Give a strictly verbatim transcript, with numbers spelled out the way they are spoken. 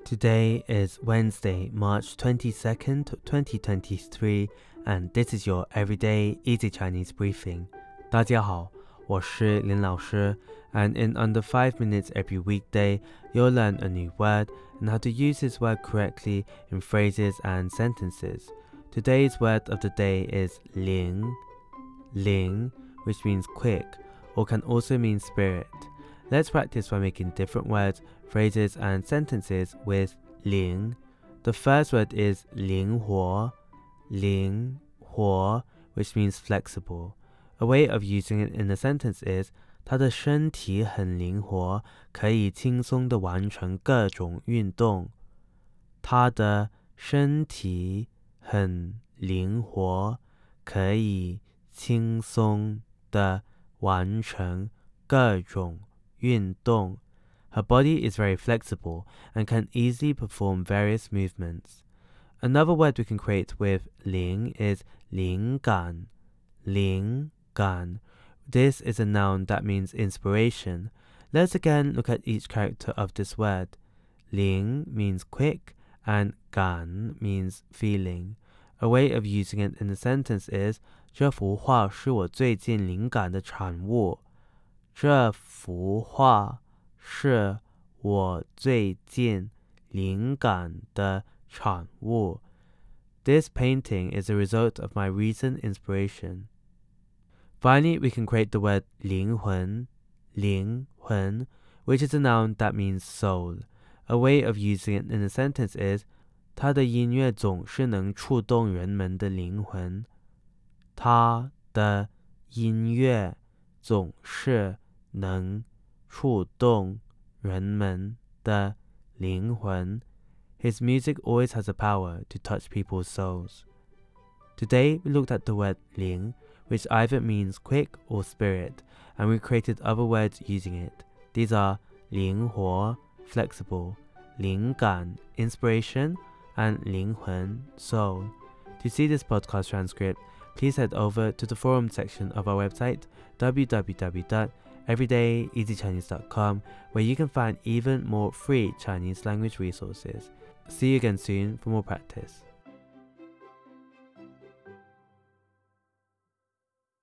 Today is Wednesday, March twenty-second, twenty twenty-three, and this is your Everyday Easy Chinese Briefing. 大家好，我是林老师 and in under five minutes every weekday, you'll learn a new word and how to use this word correctly in phrases and sentences. Today's word of the day is ling, ling, which means quick, or can also mean spirit. Let's practice by making different words, phrases, and sentences with 灵. The first word is 灵活, 灵活, which means flexible. A way of using it in a sentence is 他的身体很灵活，可以轻松地完成各种运动。他的身体很灵活，可以轻松地完成各种运动。Her body is very flexible and can easily perform various movements. Another word we can create with 灵 is 灵感，灵感. This is a noun that means inspiration. Let's again look at each character of this word. 灵 means quick and 感 means feeling. A way of using it in a sentence is 这幅画是我最近灵感的产物。这幅画是我最近灵感的产物。This painting is a result of my recent inspiration. Finally, we can create the word 灵魂, 灵魂, which is a noun that means soul. A way of using it in a sentence is 他的音乐总是能触动人们的灵魂。他的音乐总是能触动人们的灵魂。His music always has a power to touch people's souls. Today, we looked at the word 灵, which either means quick or spirit, and we created other words using it. These are 灵活, flexible, 灵感, inspiration, and 灵魂, soul. To see this podcast transcript, please head over to the forum section of our website, w w w dot everyday easy chinese dot com, where you can find even more free Chinese language resources. See you again soon for more practice.